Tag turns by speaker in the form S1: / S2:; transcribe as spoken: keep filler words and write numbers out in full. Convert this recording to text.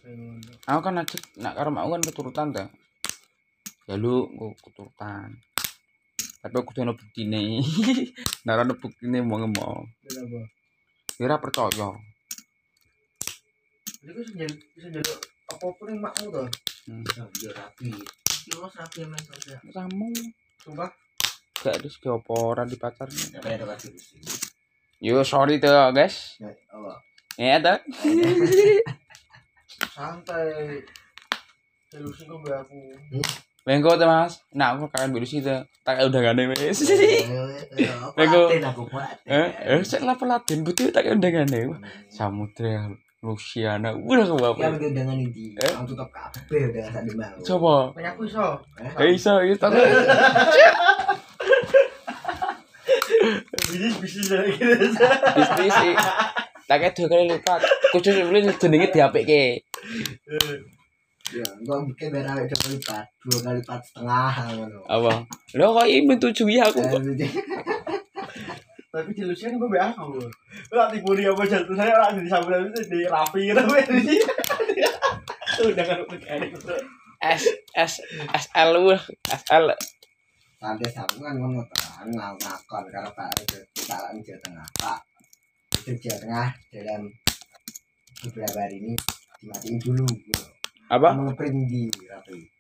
S1: Aku kan aja nak karo aku kan keturutan ta. Ya lu kok keturutan. Tapi aku kudu ono buktine. Nek ora ono buktine mau ngomong.
S2: Kenapa?
S1: Ya ora percaya.
S2: Iku bisa jadi bisa jadi apa-apa ning makmu to.
S1: Hmm.
S2: Ya rapi. Iki ora rapi men saja.
S1: Kamu
S2: Sumpah.
S1: gak ada segi apa ora di pacar.
S2: Ya kayak ada sih.
S1: Yo sorry tuh guys.
S2: Ya Allah.
S1: Ya tuh.
S2: Santai. Delusi kok mbak aku.
S1: Bengko tuh mas. Nah aku kalian delusi tuh. Tak udah gak ada wes.
S2: Bengko. Aku kuat.
S1: Eh, eh saya lapor Latin putih tak udah gak ada. Samudra Luciana udah ke bapak.
S2: Ya udah dengan ini. Aku tutup kabeh udah sak demam.
S1: Coba.
S2: Banyak aku iso.
S1: Eh iso itu.
S2: Bisnis bisnis lagi gitu.
S1: Bisnis sih. Tak dua kali lipat. Khusus beli jenenge diapike.
S2: Ya, gua bikin biar awake dua kali lipat, dua kali lipat setengah ngono.
S1: Apa? Lo kok ini menyetujui aku.
S2: Tapi di Lucian gue be aku. Lah tipu dia apa jatuh saya lah di sambil itu di rapi gitu di. Udah kan mekanik itu.
S1: S S S L lu S L.
S2: Santai aku kan ngono terang ngakon karo Pak Pak Jawa Tengah. Pak itu Jawa Tengah dalam beberapa hari ini dimatiin dulu.
S1: Apa?
S2: Mau ngeprint di rapi.